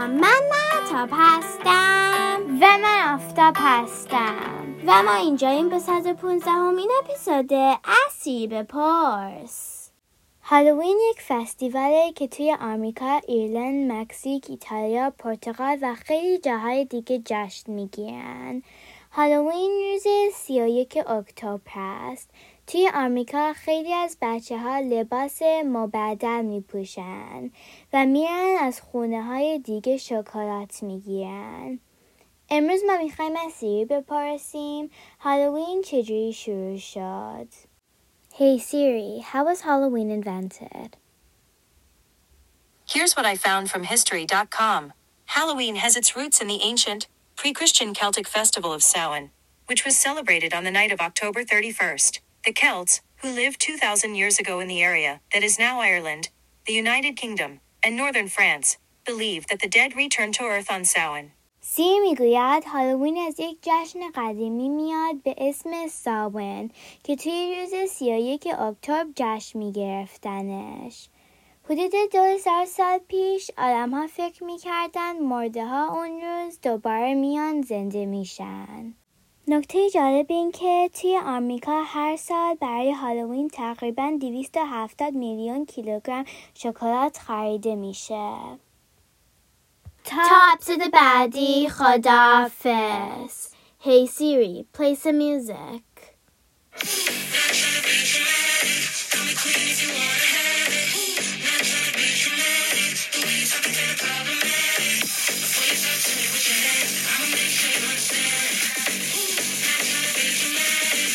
من مهتاب هستم و من آفتاب هستم و ما اینجاییم به 115مین اپیزود اسیر بپرس. هالووین یک فستیواله که توی آمریکا، ایرلند، مکزیک، ایتالیا، پرتغال و خیلی جاهای دیگه جشن میگیرن. هالووین روز 31 اکتبر است. توی آمریکا خیلی از بچه‌ها لباس مبدل میپوشن و میرن از خونه‌های دیگه شکلات میگیرن. امروز ما میخوایم از سیری بپرسیم هالووین چجوری شروع شد. Hey Siri, how was Halloween invented? Here's what I found from History.com. Halloween has its roots in the ancient, pre-Christian Celtic festival of Samhain, which was celebrated on the night of October 31st. The Celts, who lived 2,000 years ago in the area that is now Ireland, the United Kingdom, and northern France, believed that the dead returned to earth on Samhain. سیر میگوید هالووین از یک جشن قدیمی میاد به اسم سامن که توی روز 31 اکتبر جشن میگرفتنش. حدود 2000 سال پیش آدم‌ها فکر میکردن مرده ها اون روز دوباره میان زنده میشن. نکته جالب این که توی آمریکا هر سال برای هالووین تقریباً 270 میلیون کیلوگرم شکلات خریده میشه. تا اپیزود بعدی خداحافظ. Hey Siri, play some music.